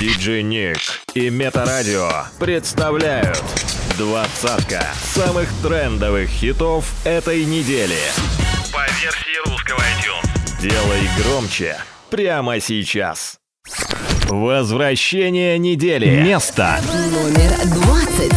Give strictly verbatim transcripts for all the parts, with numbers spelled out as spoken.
диджей Ник и Метарадио представляют двадцатка самых трендовых хитов этой недели по версии русского iTunes. Делай громче прямо сейчас. Возвращение недели. Место номер двадцать.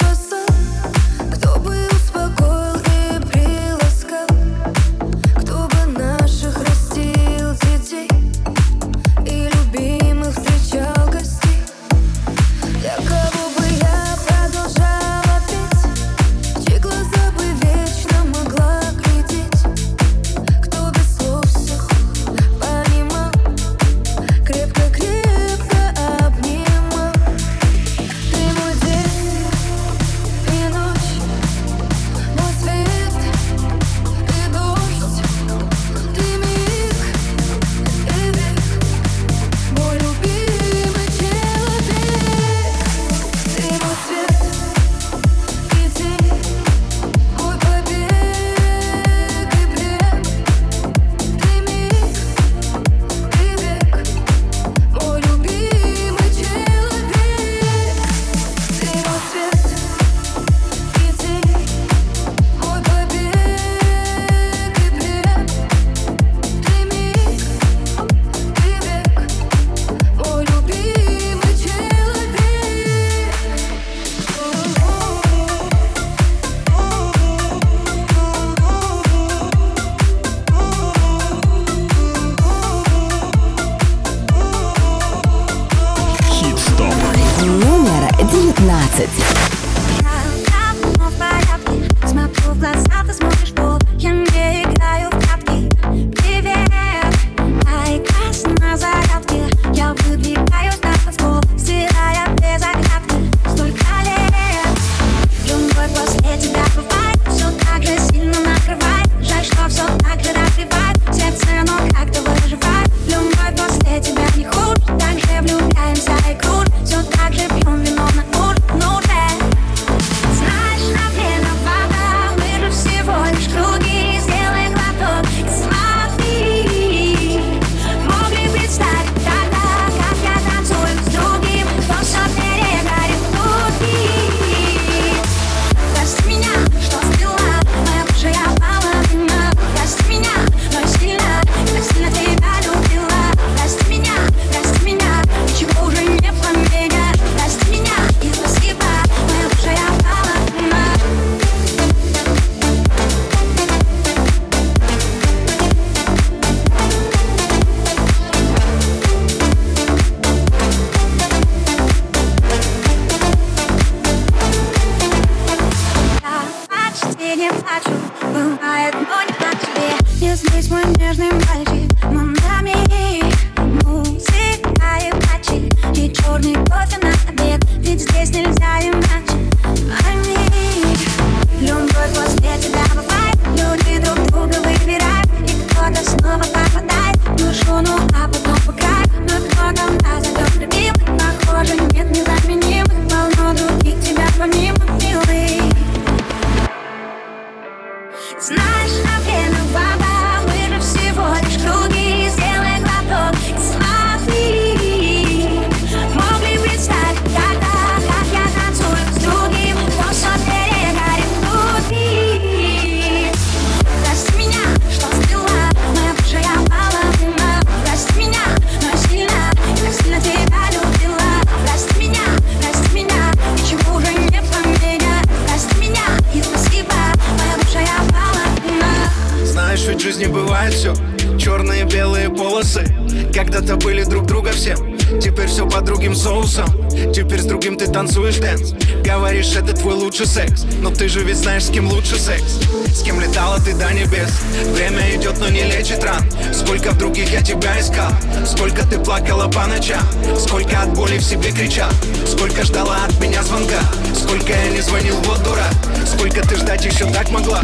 Когда-то были друг друга все, теперь все под другим соусом. Теперь с другим ты танцуешь дэнс. Говоришь, это твой лучший секс, но ты же ведь знаешь, с кем лучше секс. С кем летала ты до небес. Время идет, но не лечит ран. Сколько в других я тебя искал. Сколько ты плакала по ночам. Сколько от боли в себе кричал. Сколько ждала от меня звонка. Сколько я не звонил, вот дурак. Сколько ты ждать еще так могла.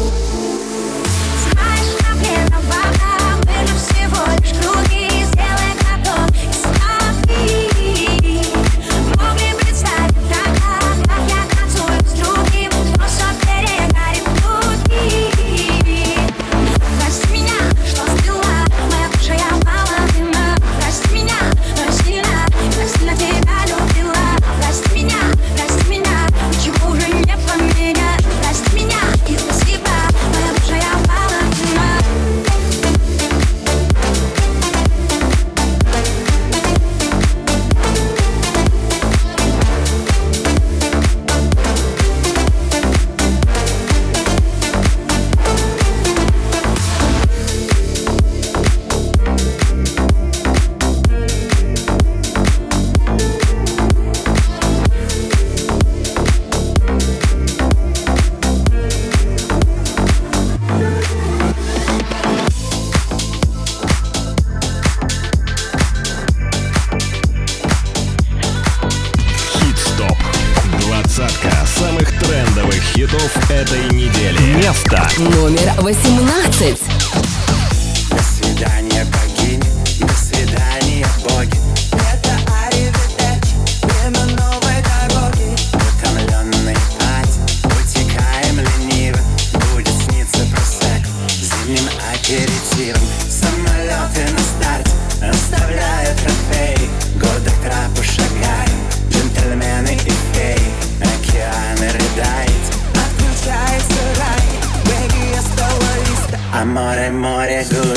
Знаешь, нам виновата. Мы же всего лишь круги. Сделай глоток и смотри. Могли представить тогда, как я танцую с другим. Но все перегорит внутри. Прости меня, что сбила. Моя душа, я упала дыма. Прости меня, но я сильно, так сильно хитов этой недели. Место номер восемнадцать. До свидания, богини, до свидания, боги. Это аривидерчи, время новой дороги. Утомленный пать, утекаем лениво. Будет сниться просек зимним аперитивом. Самолеты на старте оставляют трофеи. Годы к трапу шагаем, джентльмены и феи. Океаны рыдает, отключается рай. Бэги, я стала листа, а море, море, good.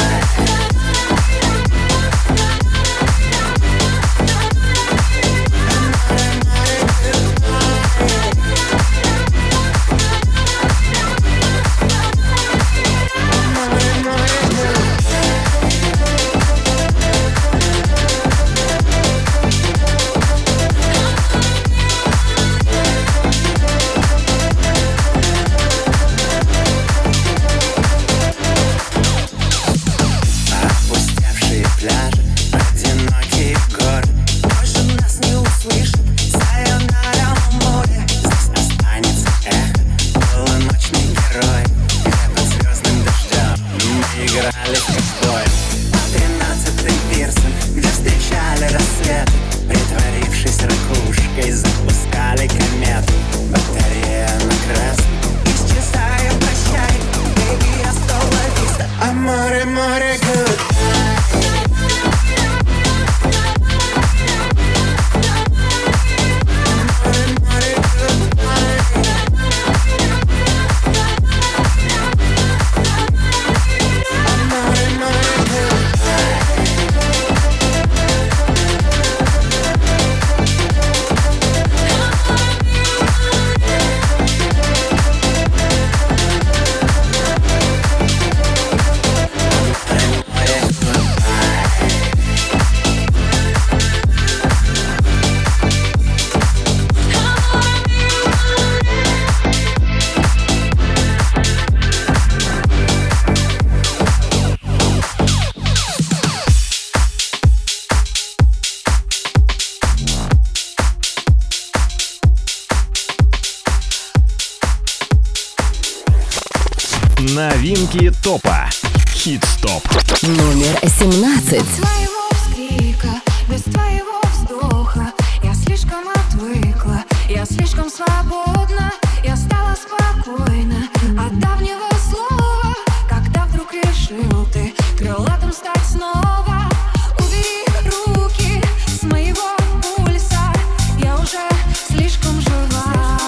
Новинки топа. Хит-стоп. Номер семнадцать. Без твоего вскрика, без твоего вздоха я слишком отвыкла, я слишком свободна, я стала спокойна от давнего слова, когда вдруг решил ты крылатым стать снова. Убери руки с моего пульса, я уже слишком жива.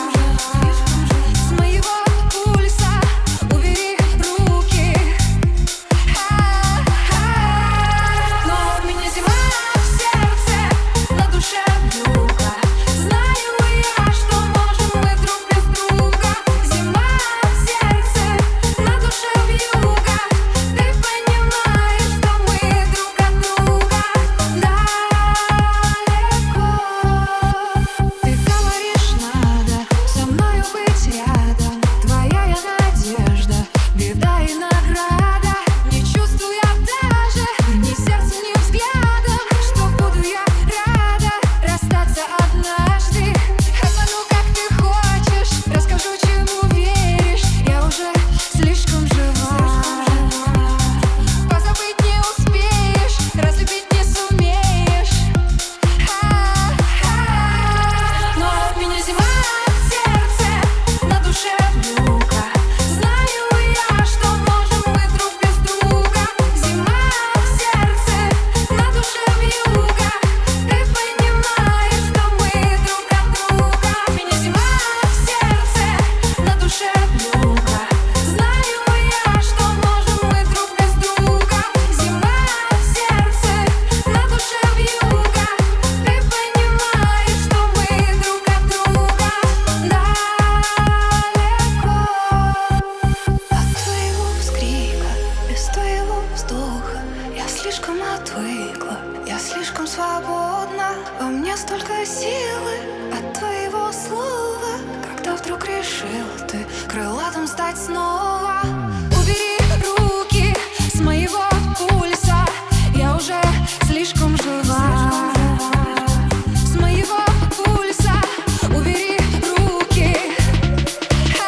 С моего пульса убери руки. Но у меня зима в сердце, на душе вьюга. Знаю я, что можем мы друг без друга. Зима в сердце, на душе вьюга. Ты понимаешь, что мы друг от друга далеко. Ты говоришь, надо со мною быть рядом. Твоя я надежда, беда и награда. Не чувствую я даже ни сердцем, ни взглядом, что буду я рада расстаться однажды. Обману, как ты хочешь, расскажу, чему веришь. Я уже слишком жива. Позабыть не успеешь, разлюбить не сумеешь. Но у меня зима в сердце, на душе вьюга. Знаю я, что можем мы друг без друга. Зима в сердце, на душе вьюга. Ты понимаешь, что мы друг от друга. У меня зима в сердце, на душе вьюга. Знаю я, что можем мы друг без друга. Зима в сердце, на душе вьюга. Ты понимаешь, что мы друг от друга далеко. От твоего вскрика, без твоего вздоха я слишком отвыкла, я слишком свободна. Во мне столько силы от твоего слова, когда вдруг решил ты крылатым стать снова. Убери руки с моего пульса, я уже слишком жива. С моего пульса убери руки.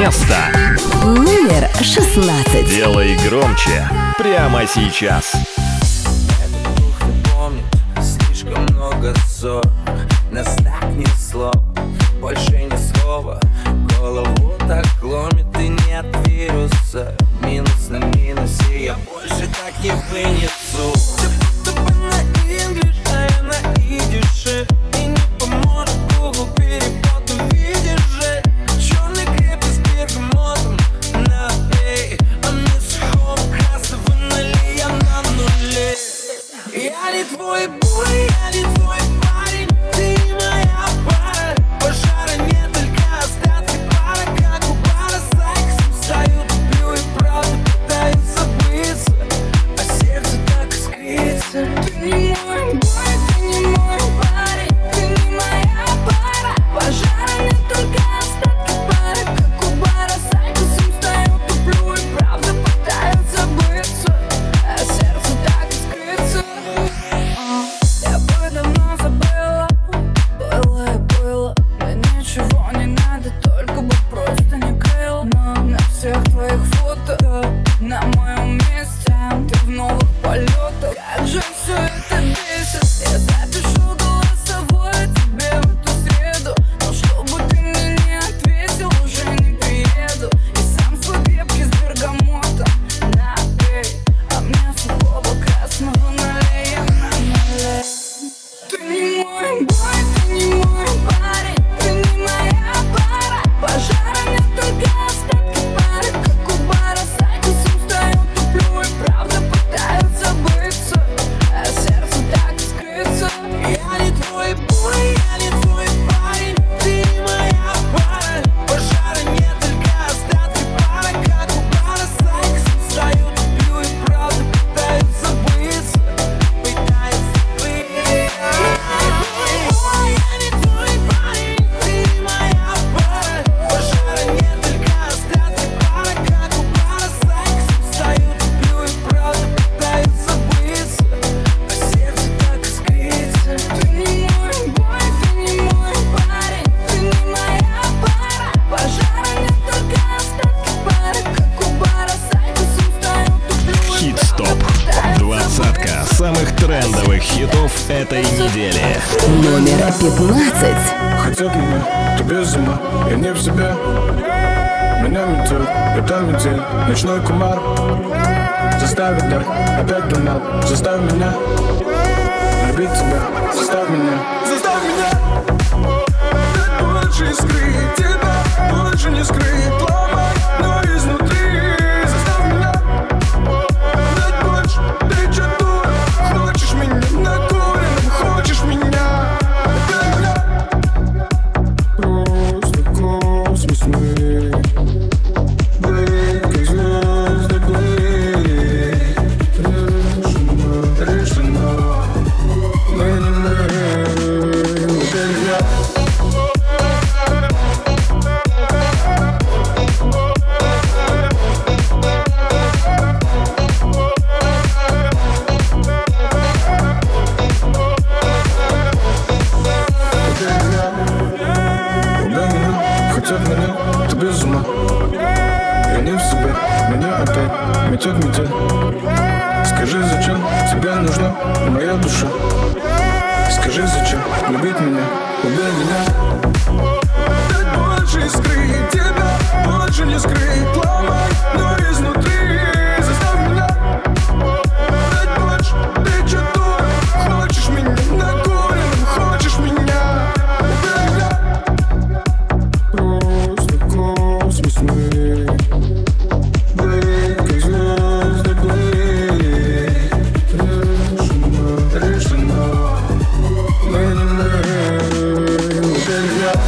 место Номер шестнадцать. делай громче прямо сейчас. Помнит, слишком много ссор. Нас так несло, больше ни слова. Голову так ломит и нет вируса. Минус на минусе, я больше так не вынесу. Ты будто бы на инглиш, а я на идише. И не поможет Google перевод, увидишь же. Черный креп с бергамотом на эй. А мне сухого красного налей, я на нуле. Я не твой бой, я не твой парень. Ты не моя пара. Пожара нет, только остатки пара. Как у бара Сайксом встаю, туплю и правда пытаюсь забыться. А сердце так искрится. Ты не мой бой, ты не мой парень. Ты не моя пара. Пожара нет, только остатки пара. Как у бара Сайксом встаю, туплю и правда пытаюсь забыться. А сердце так искрится. Я бы давно забыла, было и было. Мне ничего не надо, только бы просто не крыло. Но на всех твоих фото, на моем месте, ты в новых полетах. Как же все это бесит. Я запишу голосовое тебе в эту среду. Но чтобы ты мне не ответил, уже не приеду. И сам свой крепкий с бергамотом напей. А мне сухого красного налей, я на нуле. Ты не мой бой, ты не мой парень. Ты не моя пара. Пожара нет, только остатки пары. Как у бара Сайксом встаю, туплю и правда пытаюсь забыться. А сердце так искрится. Я не твой бой, я не твой парень. Ты не моя пара. Пожара нет, только остатки пары. Как у бара Сайксом встаю, туплю и правда пытаюсь забыться. Пытаюсь забыться. Ой, я не твой парень, ты не моя пара. Пожара нет, только остатки пара. Как у бара Сайксом встаю, туплю и правда пытаюсь забыться. А сердце так искрится. Ты не мой бой, ты не мой парень. Ты не моя пара. Пожара нет, только остатки пара. Как у бара Сайксом встаю, туплю и Хит-стоп. правда пытаюсь Двадцатка забыться. самых трендовых хитов этой недели. Номер пятнадцать. Хотят меня, то без ума, я не в себе. Меня метет, это метель, ночной кумар. Заставит дать, опять туннел. Заставь меня любить тебя, заставь меня. Заставь меня дать больше искры. Тебя больше не скрыть. Ломай, но изнутри. Заставь меня дать больше. Ты чё дура? Хочешь меня накуренным, хочешь меня. Опять меня. Просто космос мы. Быть как звезды плыть. Решено, решено. Мы не мы. Опять я. Хотят меня, ты без ума. Я не в себе, меня опять метет метель. Скажи, зачем тебе нужна моя душа? Скажи, зачем любить меня, убей меня. Дать больше искры, тебя больше не скрыть. Ломай, но изнутри. Заставь меня дать больше. Ты чё дура? Хочешь меня накуренным, хочешь меня. Убей меня. Просто космос мы. Быть как звезды плыть. Решено, решено. Мы не мы. Опять я.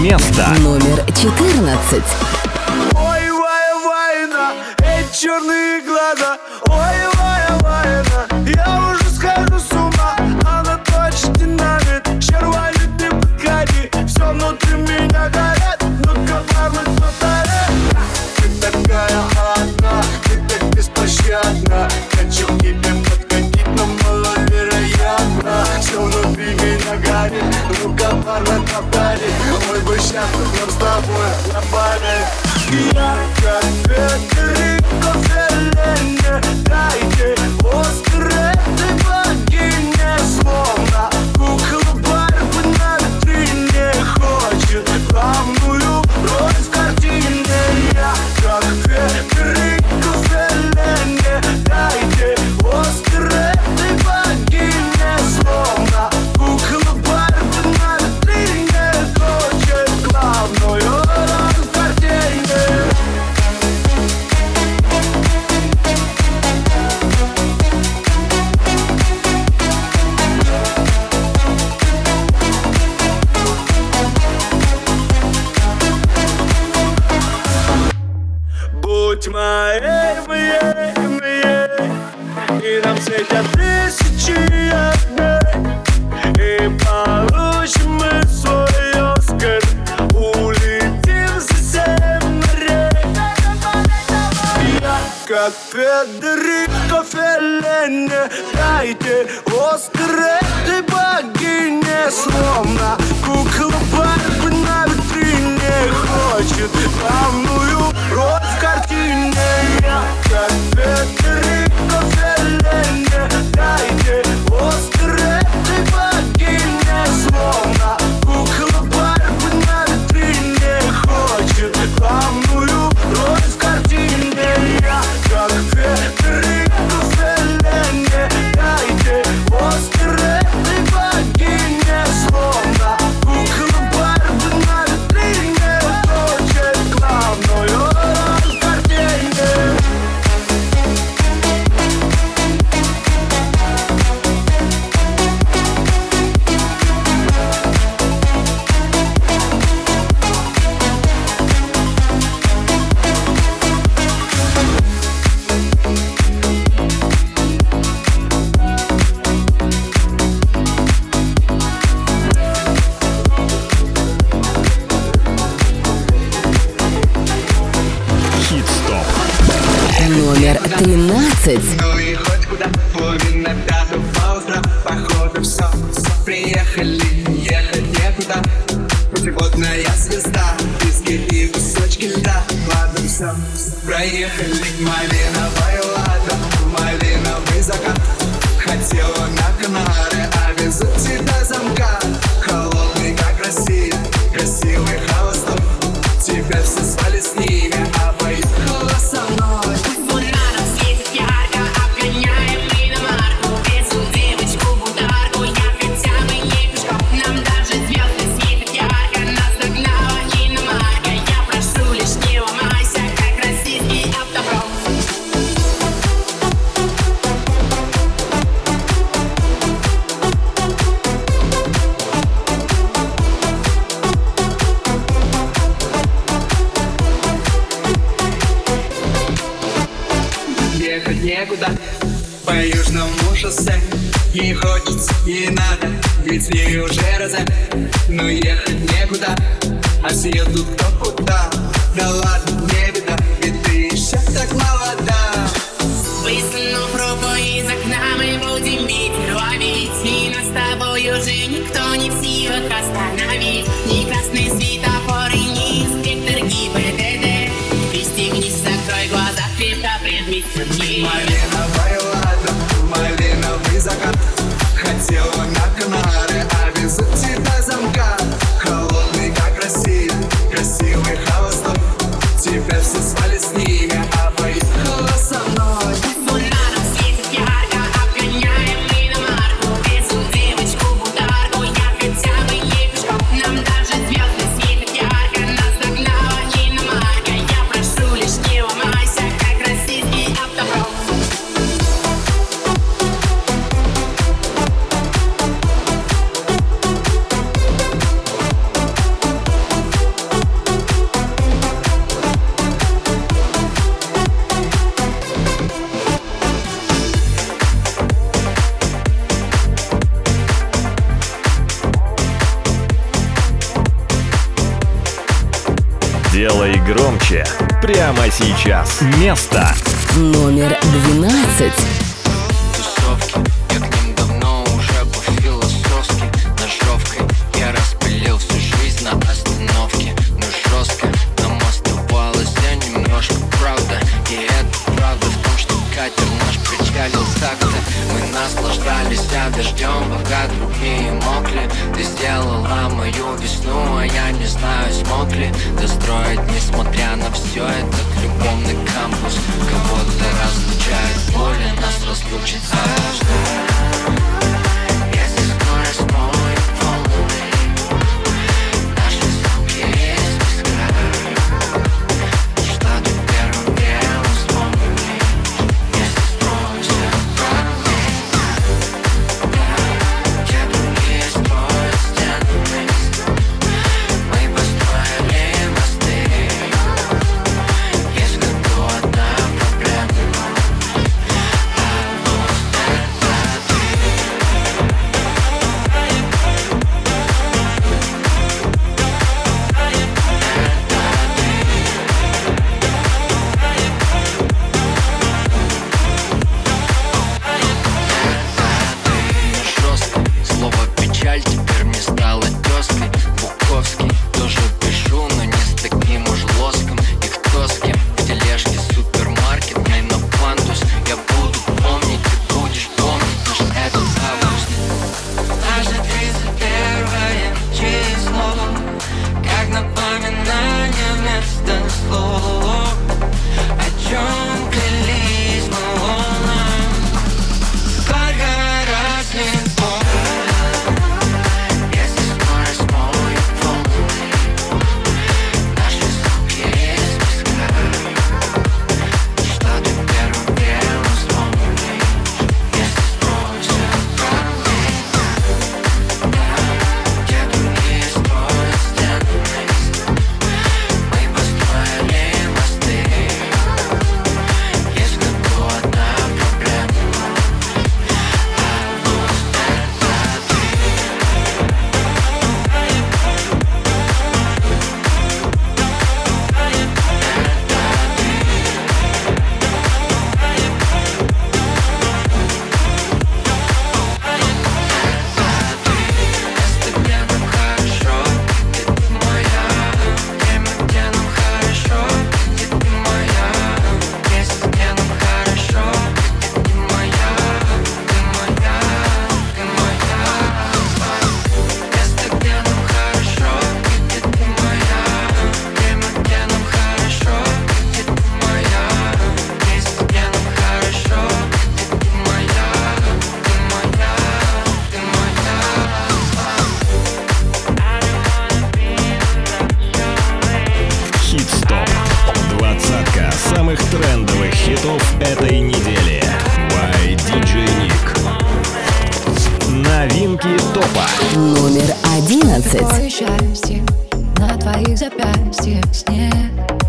место. Номер четырнадцать. Ой, Вая, Вайна, эти черные глаза. Ой, Вая, Вайна, я уже схожу с ума. Она точно динамит, червали ты подходи. Все внутри меня горят, ну-ка, парни, повторяй. Ты такая одна, ты так беспощадна. Хочу к тебе подкатить, но маловероятно. Все внутри меня горит, ну-ка, парни, повтори. Ой, бы сейчас нам с тобой напали. Я как Федерико Феллини, дайте Оскар этой богине. Словно кукла Барби на витрине, хочет главную роль в картине. Я как Федерико Феллини, дайте Оскар этой богине. Словно кукла Барби на витрине, хочет главную роль в картине. Будь моей, моей, моей, и нам светят тысячи огней, и получим мы свой Оскар, улетим за семь морей. Я как Федерико Феллини, дайте Оскар этой богине. Словно кукла Барби на витрине, хочет главную роль в картине. Я как Федерико Феллини, дайте Оскар этой богине. Словно кукла Барби на витрине, хочет главную роль в картине. Я как Федерико Феллини, дайте Оскар этой богине. Словно кукла Барби на витрине, хочет главную роль в картине. Хит-стоп. Номер тринадцать. Ну и хоть куда, половин на пятую по утрам. Походу все, приехали, ехать некуда. Путеводная звезда, пески и кусочки льда. Ладно, все, проехали. Малиновая лада, малиновый закат. Хотела на Канары, а везут тебя замка. Холодный, как Россия, красивый холостой. Теперь все спали с ними, а поехала со мной. Фонаром светит ярко, обгоняем мы иномарку. Везу девочку в ударку, я хотя бы не пешком. Нам даже звезды светят ярко, нас догнала иномарка. Я прошу лишь не ломайся, как российский автопром. Ехать некуда по южному шоссе. Ей хочется, ей надо, ведь ей уже розе. Но ехать некуда, а съедут тут кто куда. Да ладно, не беда, ведь ты еще так молода. Высунув руку из окна, мы будем ветер ловить. И нас с тобой уже никто не в силах остановить. Ни красный светофор и ни инспектор ГИБДД. Пристегнись, закрой глаза, крепко прижмись ко мне. Малиновая лада, малиновый закат. Хотела на Канары, а везут тебя замка. Холодный, как Россия, красивый холостой. Теперь все спали с ними, а поехали. Делай громче прямо сейчас. Место номер двенадцать. Тусовки, я к ним давно уже по-философски. Ножовкой я распылил всю жизнь на остановке. Мы жестко, нам оставалось я немножко правда. И это правда в том, что катер наш причалил так-то. Мы наслаждались дождем, пока другие мокли. Ты сделала мою весну, а я не знаю, смог ли достроить, несмотря на все, этот любовный кампус. Кого-то разлучает боль, нас разлучит однажды. Если скорость мой полный, наши звуки есть без края. Что ты первым делом вспомнишь, если строишься правильно? Те другие строят стены, мы построили мосты. Есть как бы одна проблема, а вот это ты. Жестко, слово печаль теперь мне стало тезкой. Буковский тоже пишу, но не с таким уж лоском. И кто с кем в тележке супермаркет, мне на пандус. Я буду помнить, ты будешь помнить наш этот август. Наше тридцать первое число, как напоминание вместо слов. О чем клялись мы волнам, сколько раз не помню. Если скорость мой полный, наши звуки есть без края. Что ты первым делом вспомнишь, если строишься правильно? Те другие строят стены, мы построили мосты. Есть как бы одна проблема, а вот это ты. Место, где нам хорошо, где ты моя. Время, где нам хорошо, где ты моя. Место, где нам хорошо, где ты моя. Ты моя, ты моя. Место, где нам хорошо, где ты моя. Время, где нам хорошо, где ты моя. Место, где нам хорошо, где ты моя. Ты моя, ты моя. Хит-стоп. Двадцатка самых трендовых хитов этой недели. By ди джей Nick. Новинки топа. Номер одиннадцать. Твое счастье на твоих запястьях снег,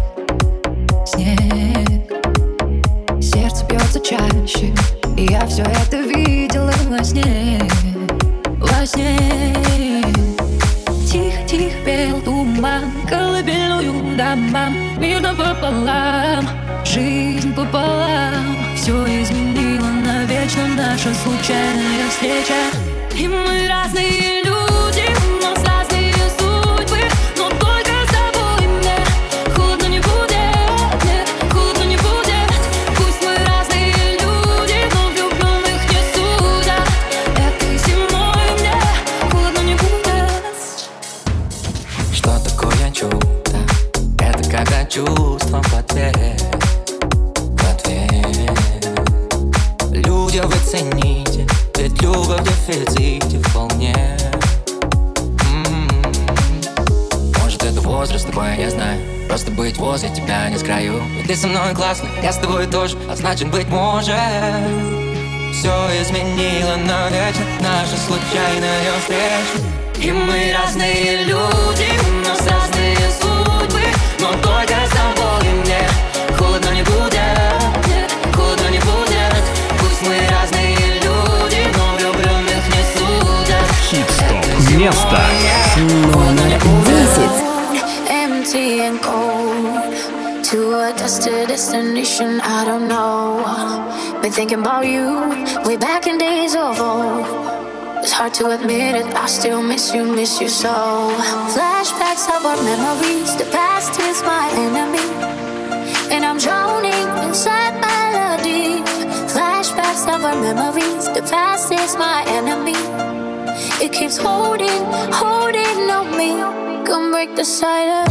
снег. Сердце бьется чаще, и я все это видела во сне, во сне. Тихо-тихо пел туман колыбельную домам. Мир напополам, жизнь пополам. Все изменило навечно наша случайная встреча. И мы разные люди, у нас разные судьбы, но только с тобой мне холодно не будет, нет, холодно не будет. Пусть мы разные люди, но влюбленных не судят. Этой зимой мне холодно не будет. Что такое чудо? Это когда чувства в ответ, в ответ. Люди, вы цените, ведь любовь в дефиците вполне. М-м-м. Может, это возраст такой, я знаю. Просто быть возле тебя не с краю. И ты со мной классно, я с тобой тоже, а значит, быть может, все изменило навечно наша случайная встреча. И мы разные люди, у нас разные судьбы, но только с тобой мне холодно не будет, нет, холодно не будет. Пусть мы разные люди, но влюбленных не судят. Хит-стоп. Место номер десять. Em empty and cold. To a destined destination, I don't know. Been thinking about you way back in days of old. It's hard to admit it, I still miss you, miss you so. Flashbacks of our memories, the past is my enemy, and I'm drowning inside melody. Flashbacks of our memories, the past is my enemy. It keeps holding, holding on me. Come break the silence.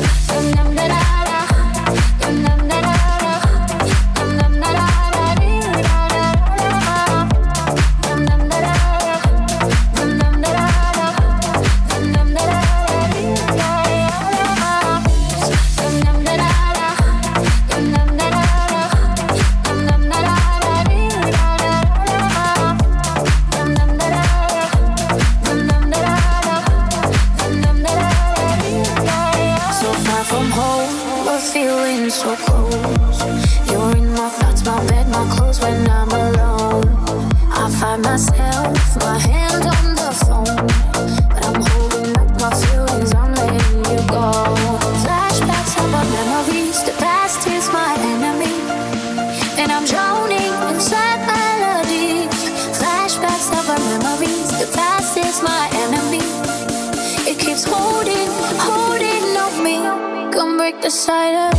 So close, you're in my thoughts, my bed, my clothes when I'm alone. I find myself, my hand on the phone, but I'm holding up my feelings, I'm letting you go. Flashbacks of our memories, the past is my enemy, and I'm drowning inside melody. Flashbacks of our memories, the past is my enemy. It keeps holding, holding on me. Come break the silence.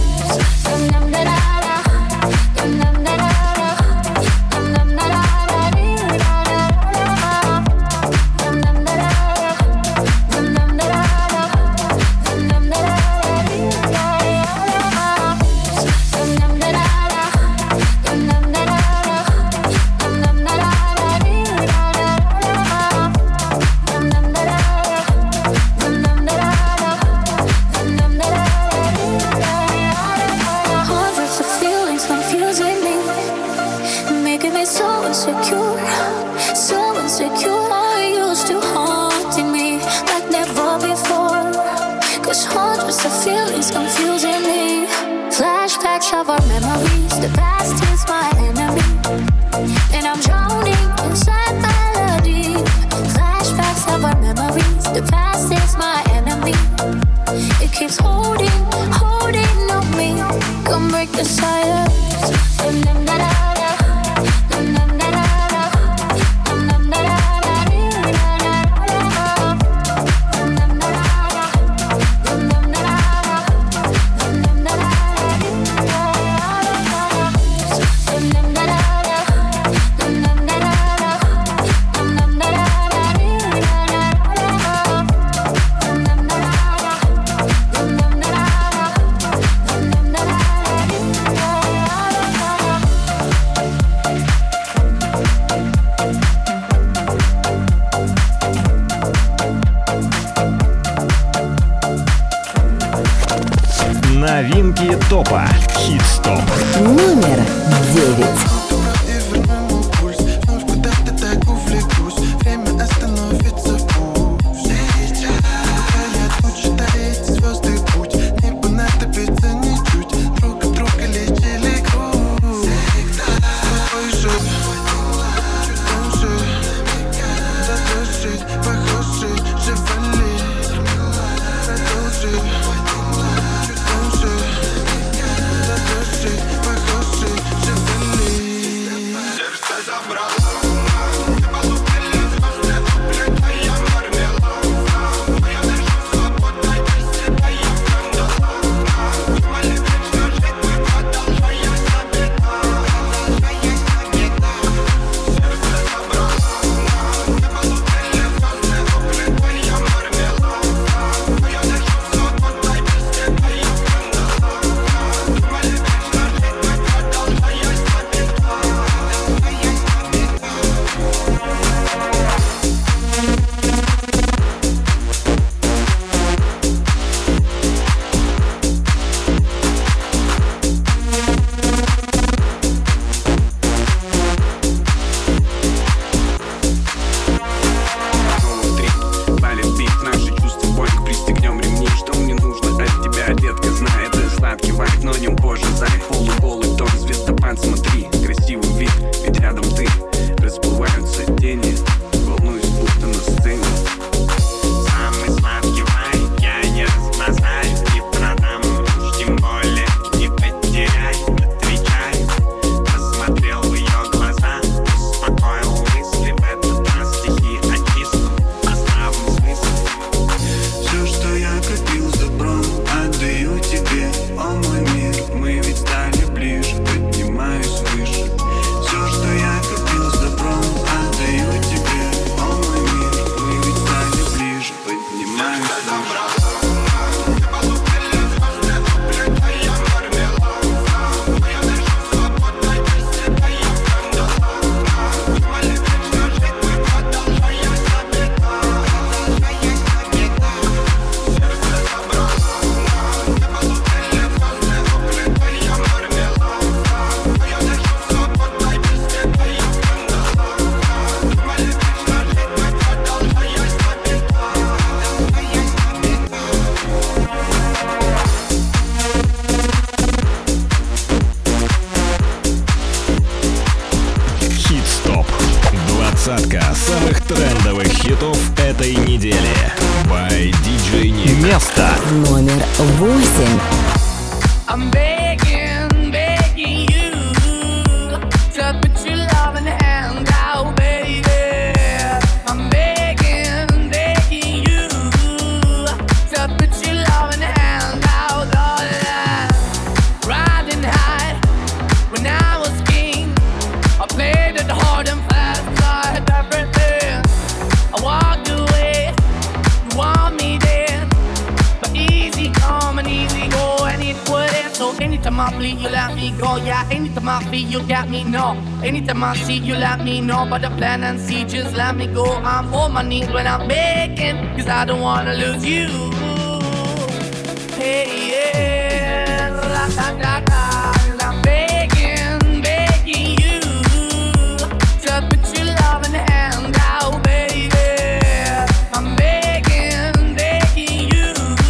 Of our memories, the past is my enemy, and I'm drowning inside melody. Flashbacks of our memories, the past is my enemy. It keeps holding, holding on me. Come break the silence. Новинки топа. Хит-стоп. Номер девять. Похожи, живали. Место номер восемь. I'm begging, begging you to put your love in the hand out, baby. I'm begging, begging you to put your love in the hand out, darling. Riding high when I was king, I played it hard and fast, I had everything. I walked away, you want me there, but easy come and easy go, and it wouldn't. So anytime I bleed, you let me go. Yeah, anytime I feel, you got me, no. Anytime I see, you let me know. But the plan and see, just let me go. I'm on my knees when I'm begging, cause I don't wanna lose you. Hey, yeah, la da da da. I'm begging, begging you to put your love in the hand out, baby. I'm begging, begging you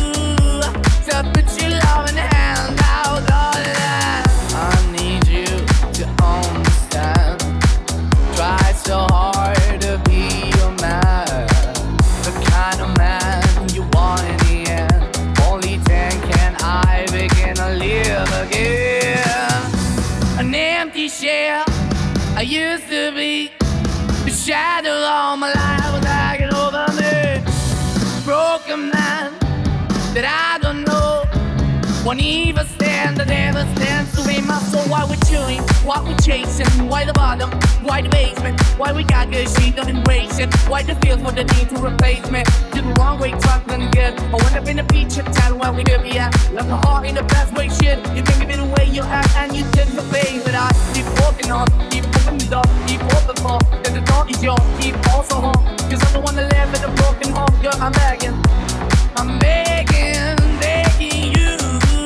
to put your love in the hand out, darling. I need you to understand. Try so hard to be your man, the kind of man you want in the end. Only then can I begin to live again. An empty shell I used to be, the shadow all my life was hanging over me. Broken man that I don't know won't even stand, I never stand to be my soul. Why we're chewing, why we're chasing, why the bottom, why the basement, why we got good, she don't embrace it, why the feel for the need to replace me. Did the wrong way, trying to get, I went up in the feature town where we could be at. Left the heart in the best way, shit. You think of it the way you act and you didn't face, but I keep walking on, keep moving the door, keep open for, cause the door is yours, keep also home, cause I don't wanna live in a broken home, girl, I'm begging, I'm begging, begging you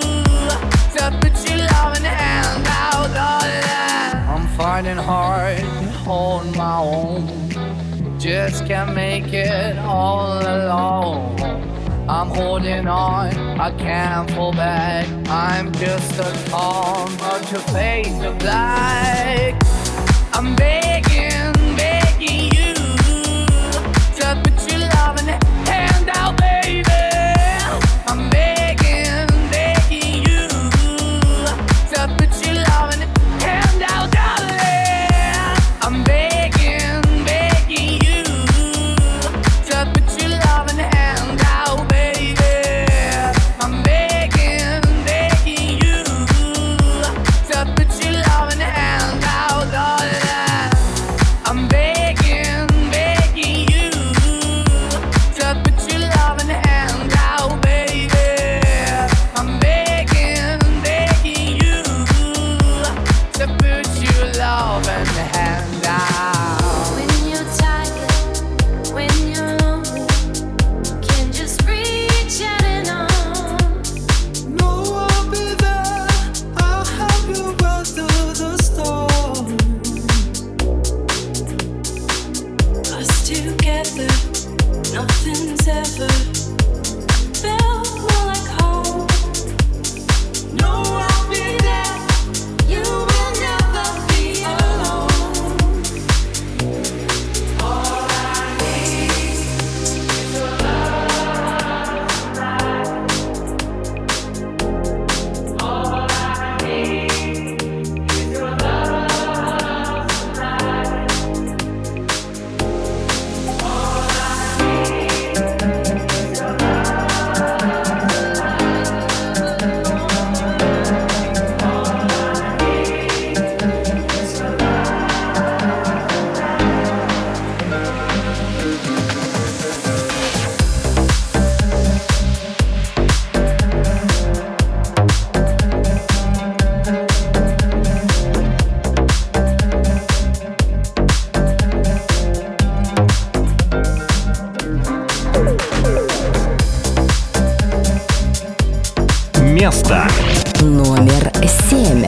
to put your love in the hand out, darling. I'm finding hard to hold my own, just can't make it all alone. I'm holding on, I can't fall back, I'm just a call, but your face of black. I'm begging, begging you to put your love in the hand out, baby. I'm begging, begging you to put your love in the hand out, darling. I'm begging, begging you to put your love in the hand out, baby. I'm begging, begging you to put your love in the hand out, darling. I'm begging, begging you to put your love in the hand out, baby. I'm begging, begging you to put your love in the hand out. When you're tired, when you're lonely, you can just reach out and on. No, I'll be there. I'll help you weather the storm. Us together, nothing's ever felt more like home. No, I'll be there. You will never be alone. All I need is your love tonight. All I need is your love tonight. All I need is your Место номер семь.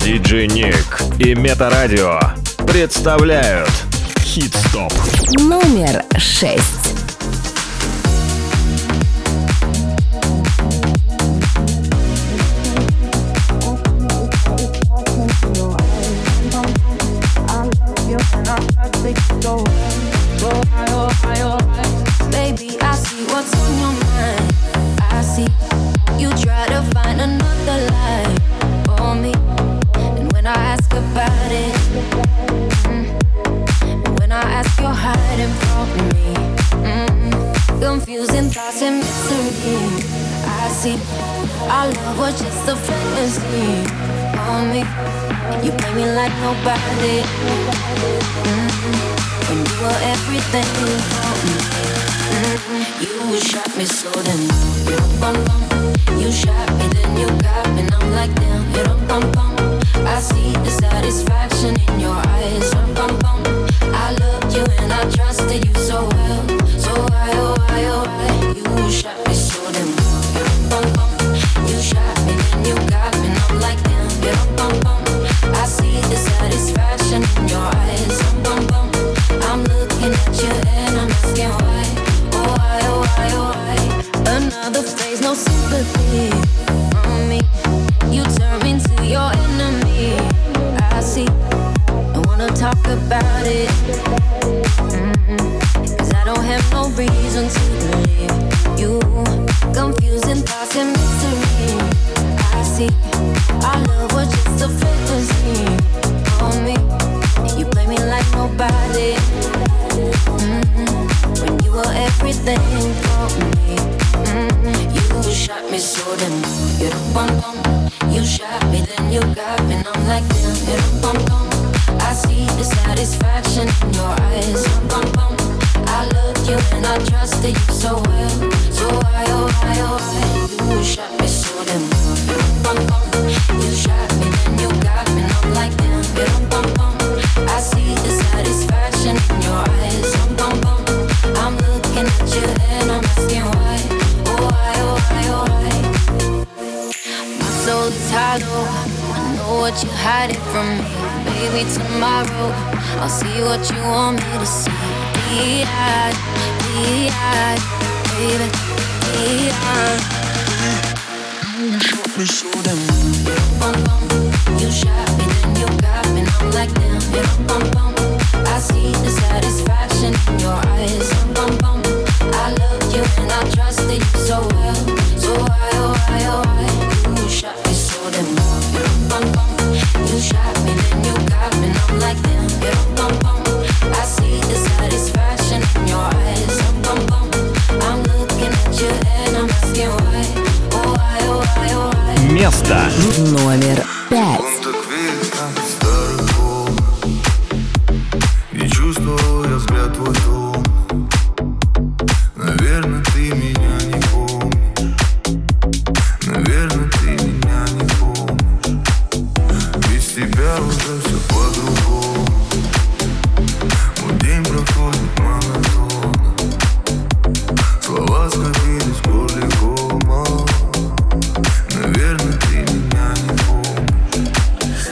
диджей Ник и Метарадио представляют Хит-стоп номер шесть. Baby, I see what's on your mind. I see you try to find another lie for me. And when I ask about it, mm, and when I ask, you're hiding from me. Mm, confusing thoughts and mystery. I see our love was just a fantasy for me. You play me like nobody. Mm-hmm. When you were everything for me. Mm-hmm. You shot me so then you bum bum. You shot me then you got me and I'm like damn you don't bum bum. I see the satisfaction in your eyes. Bum bum. I loved you and I trusted you so well. So why oh why oh why you shot me so then you bum bum. You shot me then you got me and I'm like damn you don't bum bum. I see the satisfaction in your eyes. Bum bum. I'm looking at you and I'm asking why. Oh why, oh why, oh why. Another phase, no sympathy from me. You turn into your enemy. I see, I wanna talk about it. Mm-hmm. Cause I don't have no reason to believe you. Confusing thoughts and mystery. I see, our love was just a fantasy for me. You play me like nobody. Mm-hmm. When you were everything for me. Mm-hmm. You shot me so then you don't bum bum. You shot me then you got me and I'm like damn you don't bum bum. I see the satisfaction in your eyes. Bum bum. I loved you and I trusted you so well. So why oh why oh why you shot me so then you don't bum bum. You shot me then you got me and I'm like damn you don't bum bum. I see the satisfaction in your eyes. Bum bum. I'm looking at you and I'm asking why. Oh why, oh why, oh why. My soul is hollow. I know what you're hiding from me. Maybe tomorrow I'll see what you want me to see. Be-eyed, be-eyed, baby, be-eyed. You shot me so damn. Bum bum. You shot me then you got me and I'm like damn you don't bum bum. I see the satisfaction in your eyes. Bum bum. I loved you and I trusted you so well. So why oh why oh why you shot me so damn. Bum bum. You shot me then you got me and I'm like damn you don't bum bum. I see the satisfaction in your eyes. Bum bum. I'm looking at you and I'm asking why. Oh why oh why oh why. Место номер пять. Не чувствовал я взгляд твой дом. Наверное, ты меня не помнишь. Наверное, ты меня не помнишь. Без тебя уже все по-другому. Мой день проходит монотонно. Слова скопились голикома. Наверное, ты меня не помнишь.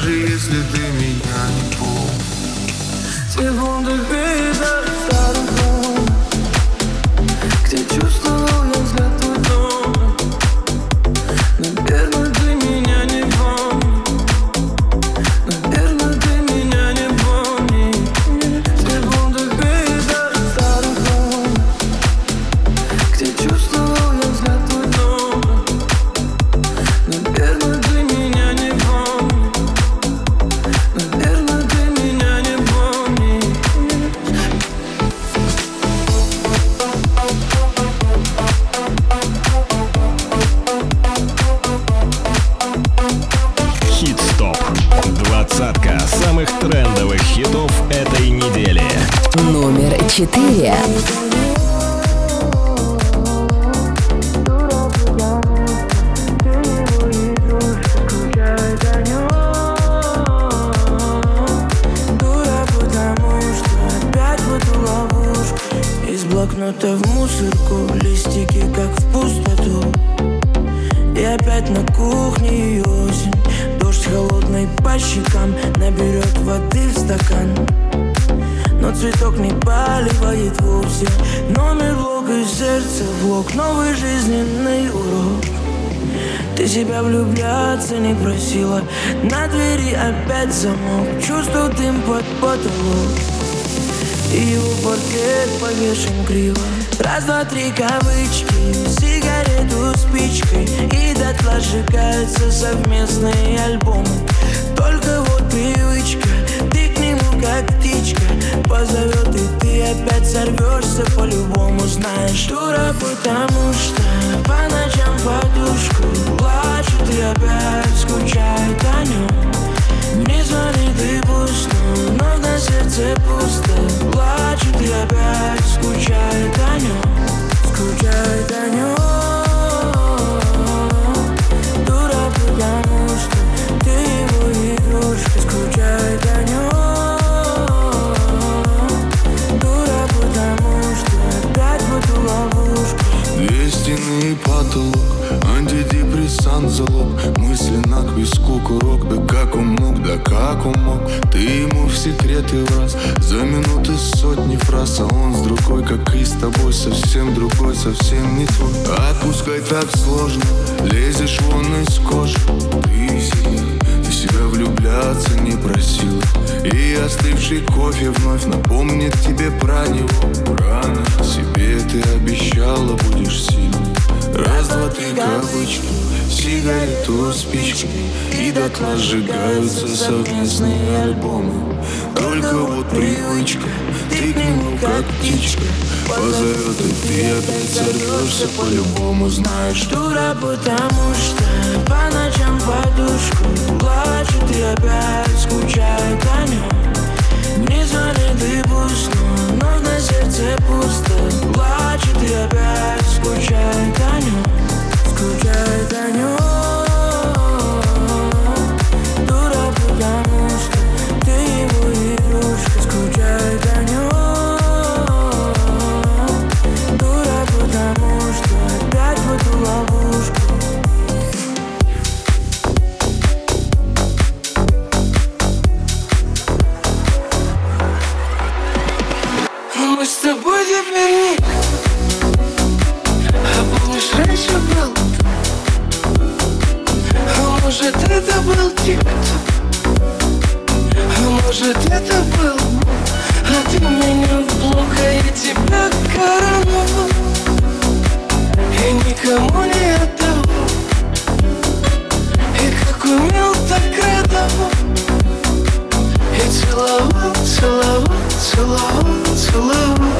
даже если ты меня не помнишь. Секунды вида старых дом, где чувствовал я взгляд твой дом. Наверное, ты меня не помнишь. Наверное, ты меня не помнишь. Секунды вида старых дом, где чувствовал я взгляд твой дом. Наверное, ты меня не помнишь. Наверное, ты меня не помнишь. Хит-стоп. Двадцатка самых трендовых хитов этой недели. Номер четыре. Дура, потому что опять в эту ловушку. Из блокнота в мусорку, листики как в пустоту. И опять на кухне и осень. Дождь холодный по щекам наберет воды в стакан. Но цветок не поливает вовсе. Номер блок и сердце влог, новый жизненный урок. Ты себя влюбляться не просила, на двери опять замок. Чувствую дым под потолок, и его портрет повешен криво. Раз, два, три кавычки, сигарету спичкой, и дотла сжигаются совместные альбомы. Только вот привычка, ты к нему как птичка позовет, и ты опять сорвешься по-любому. Знаешь, дура, потому что по ночам подушку плачет и опять скучает о нем. Не звонит и пусто, но на сердце пусто. Плачет и опять скучает о нем. Скучает о нем. Дура, потому что ты его игрушка. Скучает о нем. Дура, потому что опять в эту ловушку. Две стены и потолок, антидепрессант залог. Мысли на к виску курок. Да как он мог, да как он мог. Ты ему в секреты враз. За минуты сотни фраз. А он с другой, как и с тобой. Совсем другой, совсем не твой. Отпускать так сложно, лезешь вон из кожи. Ты себя, ты себя влюбляться не просила. И остывший кофе вновь напомнит тебе про него. Рано себе ты обещала, будешь сильной. Раз, два, три кавычки, сигарету спичкой, и дотла сжигаются совместные альбомы. Только вот привычка, ты к нему как птичка позовет, и ты опять сорвешься по-любому. Знаешь, дура, потому что по ночам подушку плачет и опять скучает о нем. Не звонит и пусто, но на сердце пусто. Плачет и опять скучает о нем. Скучает о нем. Дура, потому что ты его игрушка. Скучает о нем. Дура, потому что опять в эту ловушку. Мы с тобой теперь никто. А помнишь, раньше был? А может, это был тик-ток? А может, это был? А ты меня в блок, а я тебя короновал. И никому не отдавал. И как умел, так радовал. И целовал, целовал, целовал, целовал.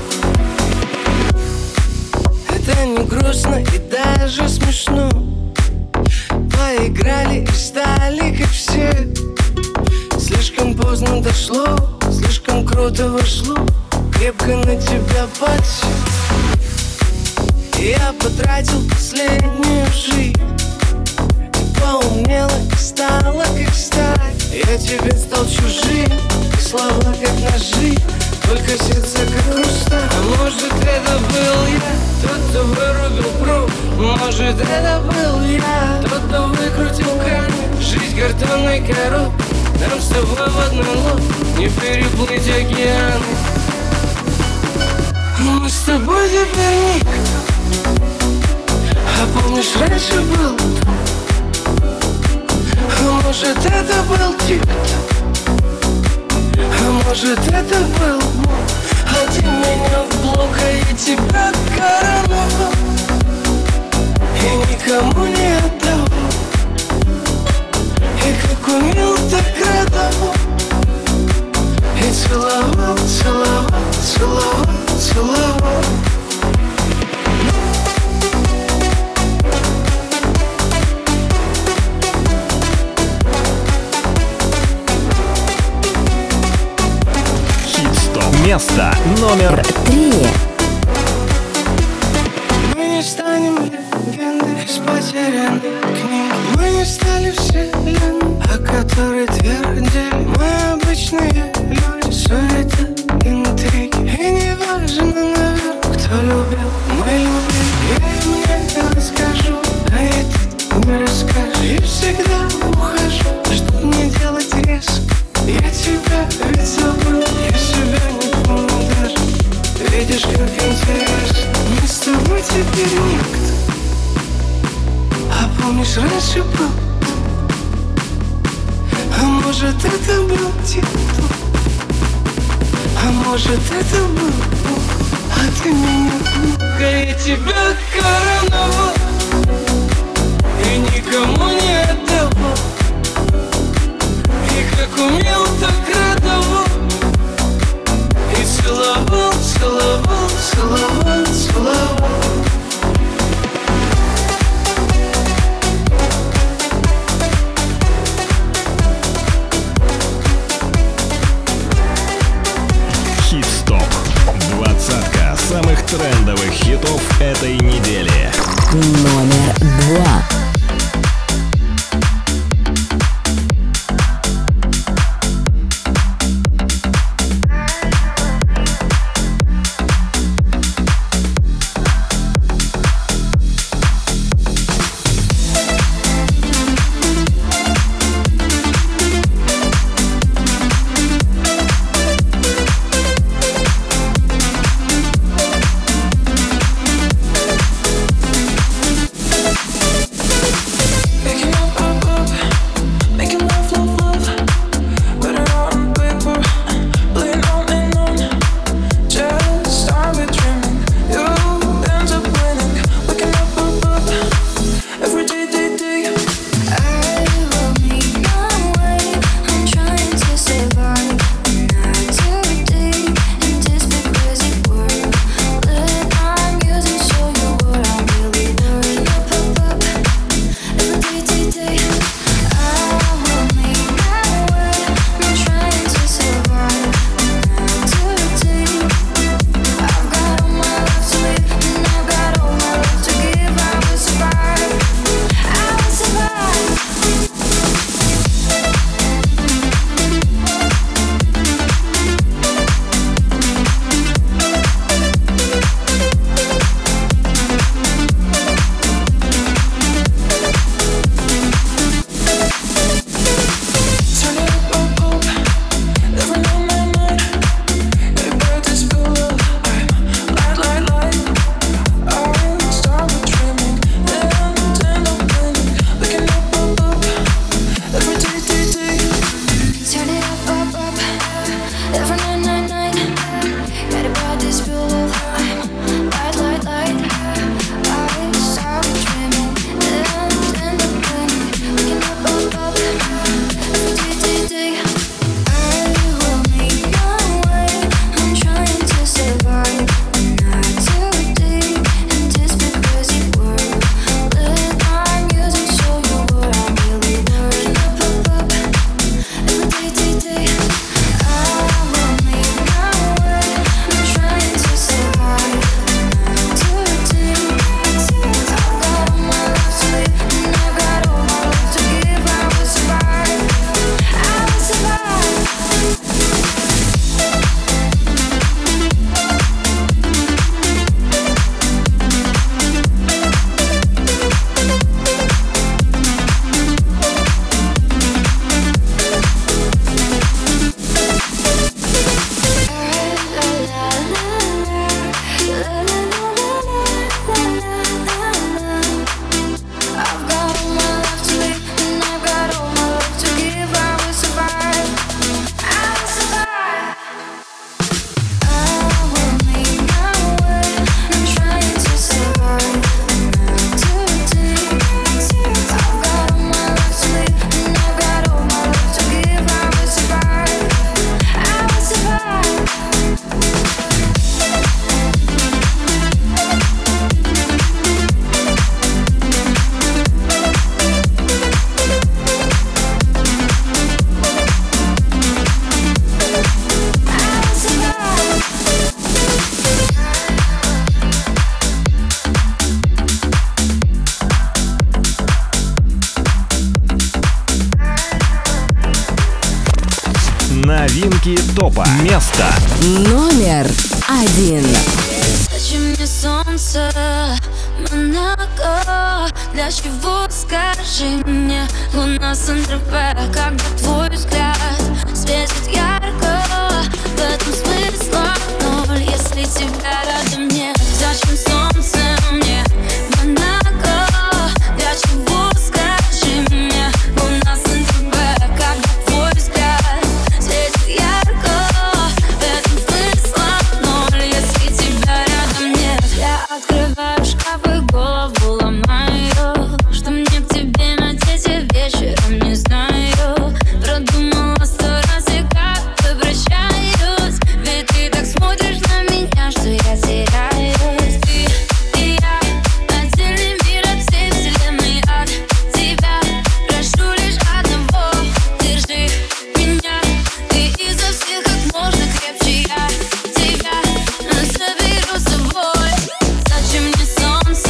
Это не грустно и даже смешно. Поиграли и стали как все. Слишком поздно дошло, слишком круто вошло. Крепко на тебя подсел. Я потратил последнюю жизнь. Ты поумнела и стала как сталь. Я тебе стал чужим, и слова как ножи, только сердце как хрусталь. А может, это был я, тот, кто вырубил пруд. Может, это был я, тот, кто выкрутил кран. Жизнь картонной коробке. Нам с тобой в одной лодке не переплыть океаны. Мы с тобой теперь никто. А помнишь, раньше был кто? А может, это был тик-ток? А может, это был мой? А ты меня в блок, а я тебя короновал и никому не отдавал. И как умел, так радовал. И целовал, целовал, целовал, целовал. Место номер три. Мы не станем легендой из потерянной книги. Мы не стали вселенной, о которой твердили. Мы обычные люди, суета, интриги. И не важно, наверное, кто любил. Мы любили, я им не расскажу, а этот не расскажешь. И всегда ухожу, чтоб не делать резко. Я тебя ведь забыл, я себя не помню даже. Видишь, как интересно, мы с тобой теперь никто. А помнишь, раньше был кто? А может, это был тик-ток? А может, это был Бог? А ты меня мог, а я тебя короновал и никому не отдавал. И как умел, так радовал. И целовал, целовал, целовал, целовал. Хит-стоп. Двадцатка самых трендовых хитов этой недели. Номер два. Новинки топа. Место номер один. Зачем мне солнце, Монако? Для чего, скажи мне, луна Сан-Тропе? Когда твой взгляд светит ярко, в этом смысла ноль, если тебя рядом нет. Зачем солнце мне, Монако? Для чего, скажи мне, луна Сан-Тропе? Когда твой взгляд светит ярко, в этом смысла ноль, если тебя рядом нет. Я открываю шкаф и голову ломаю, что мне к тебе надеть вечером, не знаю. Продумала сто раз и как обращаюсь, ведь ты так смотришь на меня, что я теряюсь. Ты и я, отдельный мир от всей вселенной, от тебя прошу лишь одного: держи меня, ты изо всех как можно крепче, я тебя заберу с собой. Зачем мне солнце,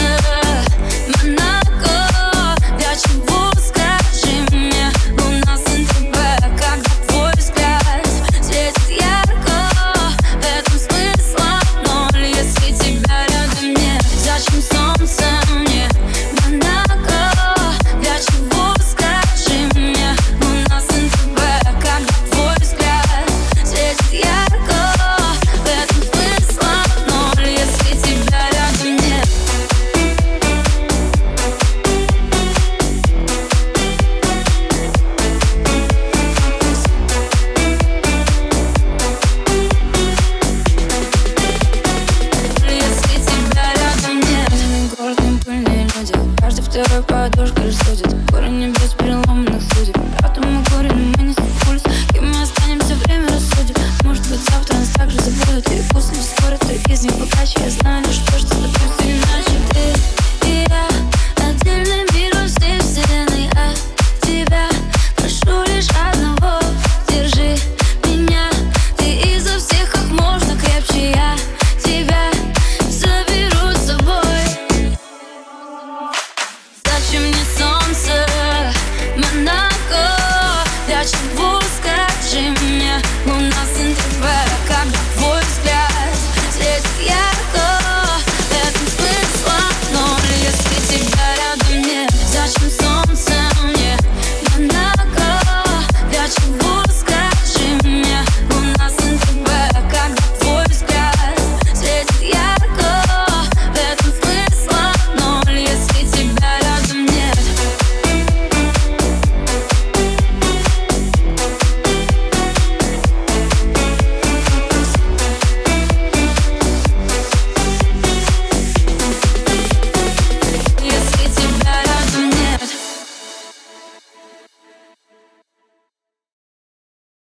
Монако? Для чего, скажи мне, луна Сан-Тропе? Когда твой взгляд светит ярко, в этом смысла ноль, если тебя рядом нет. Зачем солнце мне, Монако? Для чего, скажи мне, луна Сан-Тропе? Когда твой взгляд светит ярко, в этом смысла ноль, если тебя рядом нет. Если тебя рядом нет. Город и пыльные люди, каждый второй подушка рассудит. Горы небес переломанных судеб. Правда мы курим, мы не пульс. Кем мы останемся, время рассудит. Может быть, завтра нас также забудут. И пусть лишь скоро ты из них покачи. Я знаю лишь то, что допустим иначе. Ты и я, отдельный мир во всей вселенной, от тебя прошу лишь одного: держи меня, ты изо всех как можно крепче, я тебя заберу с собой. Зачем мне солнце, Монако? Для чего, скажи мне, луна Сан-Тропе? Когда твой взгляд светит ярко,